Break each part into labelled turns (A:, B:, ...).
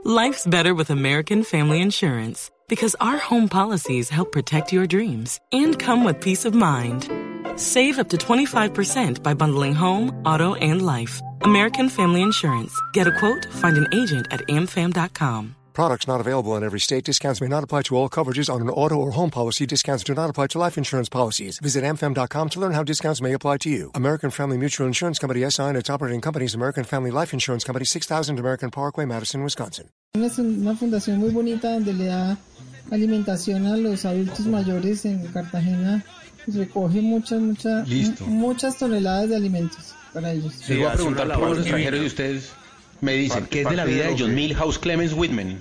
A: Life's better with American Family Insurance because our home policies help protect your dreams and come with peace of mind. Save up to 25% by bundling home, auto, and life. American Family Insurance. Get a quote, find an agent at amfam.com.
B: Products not available in every state. Discounts may not apply to all coverages on an auto or home policy. Discounts do not apply to life insurance policies. Visit amfam.com to learn how discounts may apply to you. American Family Mutual Insurance Company, S.I. and its operating companies, American Family Life Insurance Company, 6000 American Parkway, Madison, Wisconsin.
C: Es una fundación muy bonita donde le da alimentación a los adultos mayores en Cartagena. Recoge muchas toneladas de alimentos para ellos.
D: Sí, voy a preguntar por los extranjeros y ustedes me dicen, ¿qué es de la vida de John Milhouse Clemens Whitman?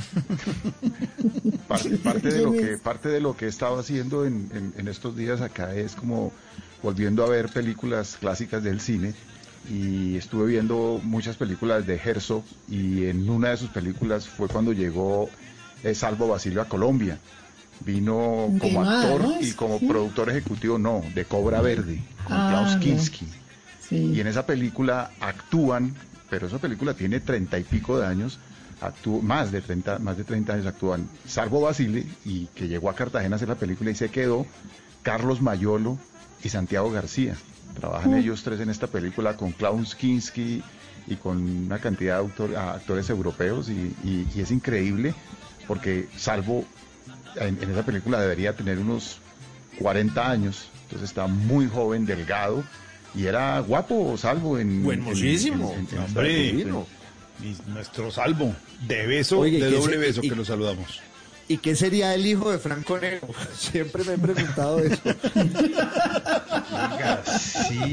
E: Parte de lo que he estado haciendo en estos días acá es como volviendo a ver películas clásicas del cine, y estuve viendo muchas películas de Herzog, y en una de sus películas fue cuando llegó Salvo Basilio a Colombia. Vino como actor y como productor ejecutivo, de Cobra Verde, con Klaus Kinski. Sí. Y en esa película actúan, pero esa película tiene 30 y pico de años, más de 30 años actúan Salvo Basile, y que llegó a Cartagena a hacer la película y se quedó, Carlos Mayolo y Santiago García. Trabajan ellos tres en esta película con Klaus Kinski y con una cantidad de actores europeos, y es increíble porque Salvo en esa película debería tener unos 40 años, entonces está muy joven, delgado, y era guapo Salvo
F: buenísimo, hombre, nuestro Salvo, de beso, oye, de doble beso, que lo saludamos.
G: ¿Y qué sería el hijo de Franco Nero? Siempre me he preguntado eso.
F: Venga, sí.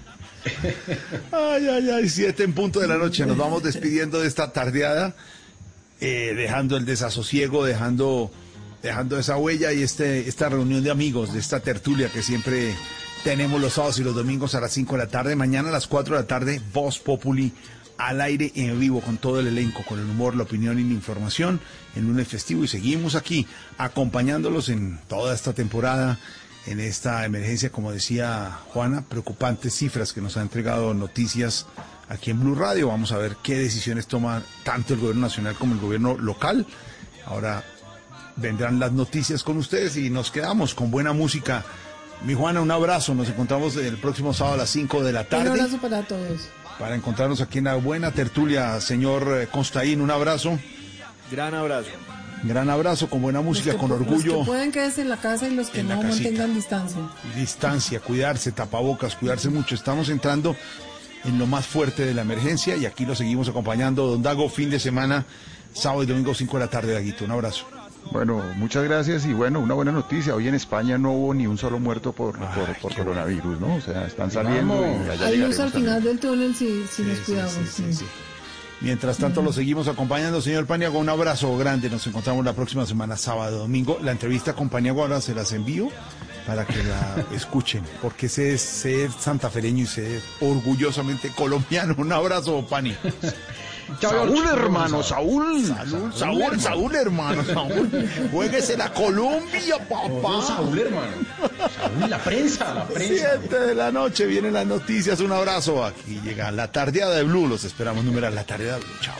F: Ay, 7 en punto de la noche. Nos vamos despidiendo de esta tardeada, dejando el desasosiego, dejando esa huella y esta reunión de amigos, de esta tertulia que siempre tenemos los sábados y los domingos a las 5 de la tarde. Mañana a las 4 de la tarde, Voz Populi al aire en vivo con todo el elenco, con el humor, la opinión y la información en lunes festivo, y seguimos aquí acompañándolos en toda esta temporada, en esta emergencia, como decía Juana, preocupantes cifras que nos ha entregado Noticias aquí en Blue Radio. Vamos a ver qué decisiones toma tanto el gobierno nacional como el gobierno local. Ahora vendrán las noticias con ustedes y nos quedamos con buena música. Mi Juana, un abrazo, nos encontramos el próximo sábado a las 5 de la tarde.
C: Un abrazo para todos.
F: Para encontrarnos aquí en la buena tertulia, señor Constaín, un abrazo.
G: Gran abrazo.
F: Gran abrazo, con buena música, con orgullo.
C: Los que pueden quedarse en la casa y los que no mantengan distancia.
F: Distancia, cuidarse, tapabocas, cuidarse mucho. Estamos entrando en lo más fuerte de la emergencia y aquí lo seguimos acompañando. Don Dago, fin de semana, sábado y domingo 5 de la tarde, Daguito. Un abrazo.
E: Bueno, muchas gracias, y bueno, una buena noticia. Hoy en España no hubo ni un solo muerto por coronavirus, ¿no? O sea, están saliendo y allá
C: hay luz al final del túnel si nos cuidamos. Sí.
F: Mientras tanto, lo seguimos acompañando, señor Paniagua. Un abrazo grande. Nos encontramos la próxima semana, sábado, domingo. La entrevista con Paniagua ahora se las envío para que la escuchen, porque sé ser santafereño y ser orgullosamente colombiano. Un abrazo, Pani.
E: Saúl, hermano, Saúl,
F: hermano, Saúl. Juéguese la Colombia, papá.
D: Saúl, hermano. Saúl, la prensa.
F: 7 de la noche, vienen las noticias. Un abrazo. Aquí llega la tardeada de Blue. Los esperamos, numeral la tardeada de Blue. Chao.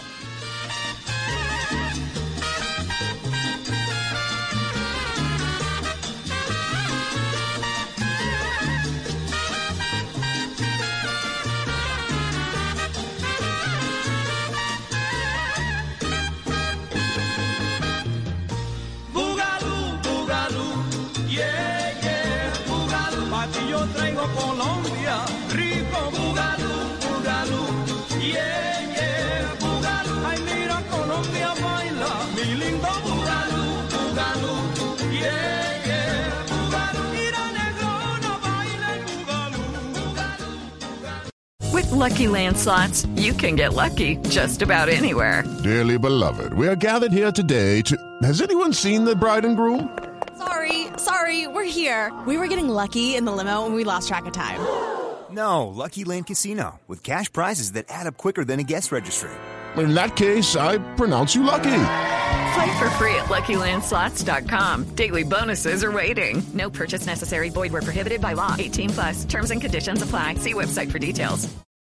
H: Colombia, rico bugalú, yeah, bugalú. Ay, mira, Colombia baila, mi lindo bugalú, yeah, bugalú. Mira, negrona, baila el bugalú.
I: With Lucky Land Slots, you can get lucky just about anywhere.
J: Dearly beloved, we are gathered here today to... Has anyone seen the bride and groom?
K: Sorry, we're here. We were getting lucky in the limo and we lost track of time.
L: No, Lucky Land Casino, with cash prizes that add up quicker than a guest registry.
J: In that case, I pronounce you lucky.
I: Play for free at LuckyLandSlots.com. Daily bonuses are waiting. No purchase necessary. Void where prohibited by law. 18+. Terms and conditions apply. See website for details.